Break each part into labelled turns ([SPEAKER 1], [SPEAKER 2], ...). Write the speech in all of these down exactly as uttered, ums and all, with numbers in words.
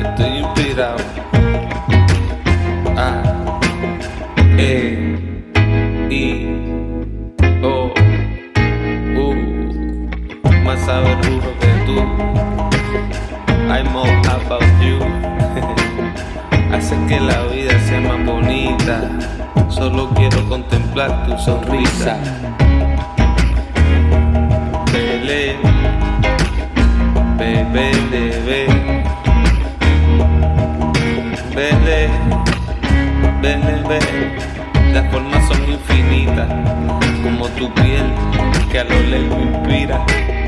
[SPEAKER 1] estoy inspirado. A, E, I, O, U. Más sabe el burro que tú. I'm all about you. Hace que la vida sea más bonita. Solo quiero contemplar tu sonrisa. Bele, bebé, bebé, bele, bele, bele. Las formas son infinitas, como tu piel que a lo lejos inspira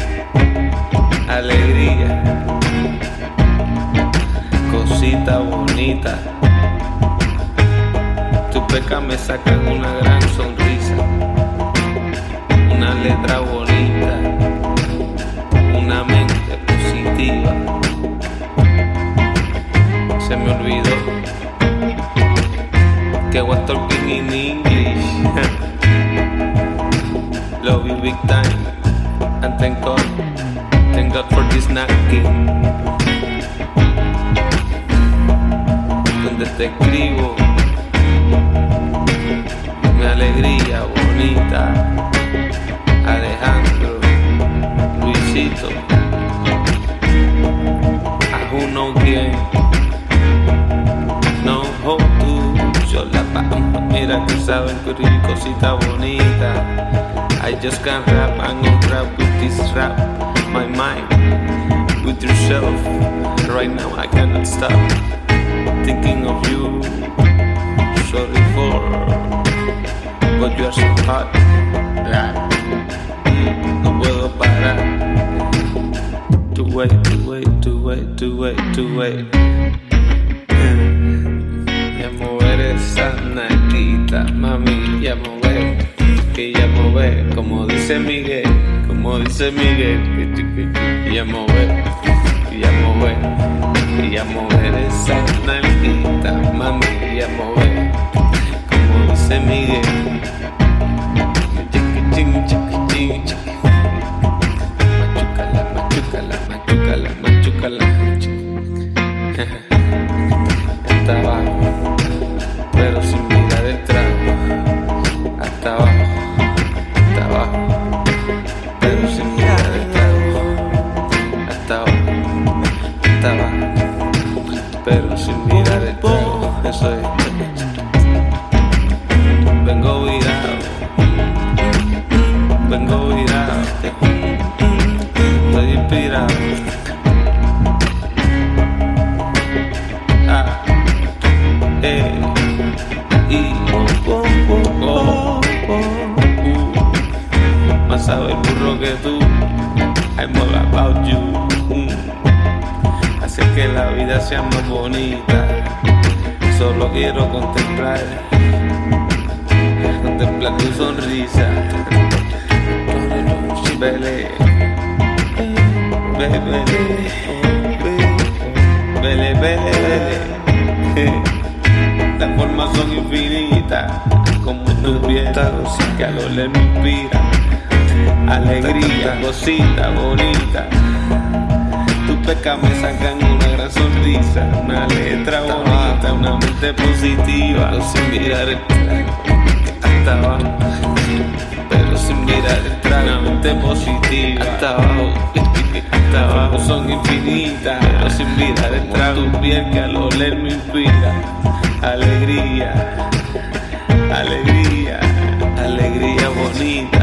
[SPEAKER 1] alegría, cosita bonita. Tus pecas me sacan una gran sonrisa, una letra bonita, una mente positiva. Se me olvidó que I was talking in English. Love you big time, and thank God, thank God for this knocking. Donde te escribo mi alegría bonita. Alejandro, Luisito, a uno quien no hold to yo la pampa. Mira que saben escribir cosita bonita. I just can't rap, I'm gonna rap with this rap. My mind, with yourself. Right now I cannot stop thinking of you. Sorry for, but you are so hot. No puedo parar. To wait, to wait, to wait, to wait, to wait. Ya mover esa naquita, mami, ya mover. Que ya mover, como dice Miguel, como dice Miguel. Que ya mover, que ya mover. Que ya mover esa naquita, mami, ya mover. Como dice Miguel. Machucala, machucala, machucala, machucala. Hasta abajo, pero sin mirar detrás. Hasta abajo, hasta abajo, pero sin mirar detrás. Hasta abajo, hasta abajo, pero sin mirar detrás. Eso es. Vengo virado, vengo virado, estoy inspirado. A, E, I, O, U. Más sabe el burro que tú. I'm all about you. Hace que la vida sea más bonita. Solo quiero contemplar, contemplar tu sonrisa. Bele, bele, bele, bele, bele. Las formas son infinitas, como tu piel que a lo lejos me inspira alegría, cosita bonita. Tus pecas me sacan una gran sonrisa, una letra bonita, una mente positiva. Pero sin mirar el hasta abajo, pero sin mirar el trago, una mente positiva. Hasta abajo, hasta abajo son infinitas, pero sin mirar el trago. Tu piel que a lo lejos me inspira alegría, alegría, alegría bonita.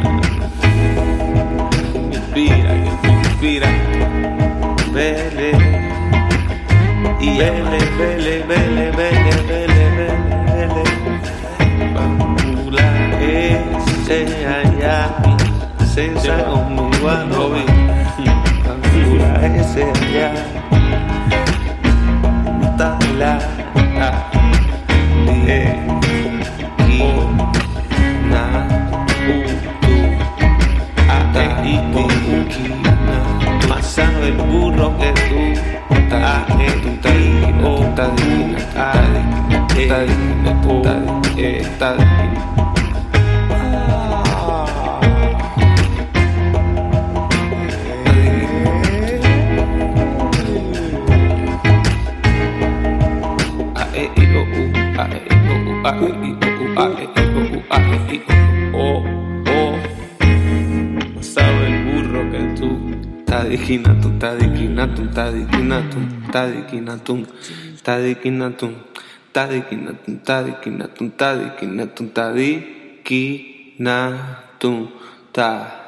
[SPEAKER 1] Me inspira, que me inspira. Vele, y vele, vele, vele, vele, vele, vele. Bambula ese allá, se sa conmigo a Robin. Bambula ese allá, está la E, I, na, U, tu, A, E, I, O, U, más sabe el burro que tú. A, E, I, O, U, A, E, O, E. tadikinatun, tadikinatun, tadikinatun, tadikinatun, tadikinatun, tadikinatun, tadikinatun, tadikinatun, tadikinatun, ta.